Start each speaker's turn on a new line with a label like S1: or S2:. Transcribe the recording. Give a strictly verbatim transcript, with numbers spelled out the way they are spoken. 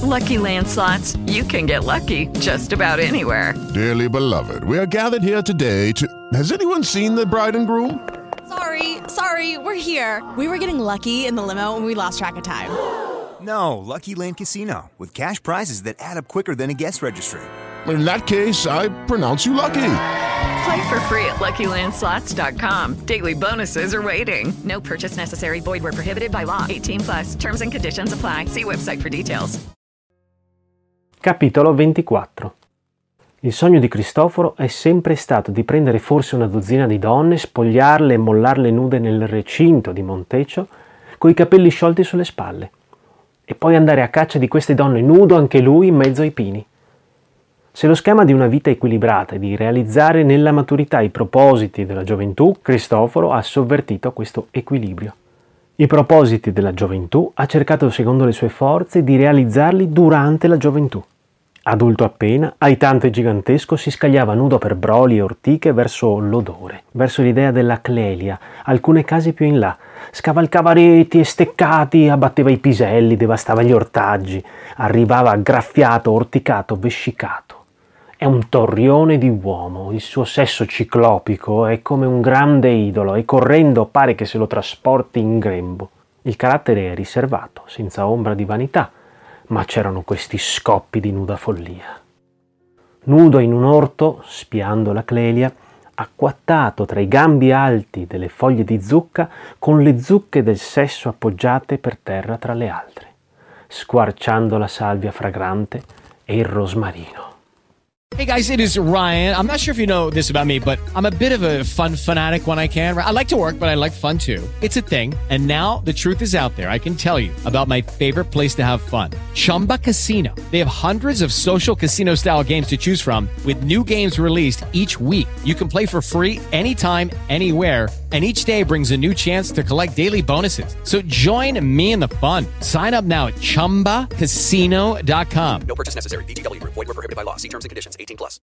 S1: Lucky Land Slots, you can get lucky just about anywhere.
S2: Dearly beloved, we are gathered here today to... Has anyone seen the bride and groom?
S3: Sorry, sorry, we're here. We were getting lucky in the limo and we lost track of time.
S4: No, Lucky Land Casino, with cash prizes that add up quicker than a guest registry.
S2: In that case, I pronounce you lucky.
S1: Play for free at Lucky Land Slots dot com. Daily bonuses are waiting. No purchase necessary. Void where prohibited by law. eighteen plus. Terms and conditions apply. See website for details.
S5: Capitolo ventiquattro. Il sogno di Cristoforo è sempre stato di prendere forse una dozzina di donne, spogliarle e mollarle nude nel recinto di Monteccio, coi capelli sciolti sulle spalle, e poi andare a caccia di queste donne nudo anche lui in mezzo ai pini. Se lo schema di una vita equilibrata è di realizzare nella maturità i propositi della gioventù, Cristoforo ha sovvertito questo equilibrio. I propositi della gioventù ha cercato, secondo le sue forze, di realizzarli durante la gioventù. Adulto appena, aitante e gigantesco, si scagliava nudo per broli e ortiche verso l'odore, verso l'idea della Clelia, alcune case più in là. Scavalcava reti e steccati, abbatteva i piselli, devastava gli ortaggi, arrivava graffiato, orticato, vescicato. È un torrione di uomo, il suo sesso ciclopico è come un grande idolo e correndo pare che se lo trasporti in grembo. Il carattere è riservato, senza ombra di vanità, ma c'erano questi scoppi di nuda follia. Nudo in un orto, spiando la Clelia, acquattato tra i gambi alti delle foglie di zucca, con le zucche del sesso appoggiate per terra tra le altre, squarciando la salvia fragrante e il rosmarino.
S6: Hey guys, it is Ryan. I'm not sure if you know this about me, but I'm a bit of a fun fanatic when I can. I like to work, but I like fun too. It's a thing. And now the truth is out there. I can tell you about my favorite place to have fun. Chumba Casino. They have hundreds of social casino style games to choose from with new games released each week. You can play for free anytime, anywhere. And each day brings a new chance to collect daily bonuses. So join me in the fun. Sign up now at chumba casino dot com.
S7: No purchase necessary. V G W Group. Void where prohibited by law. See terms and conditions. eighteen plus.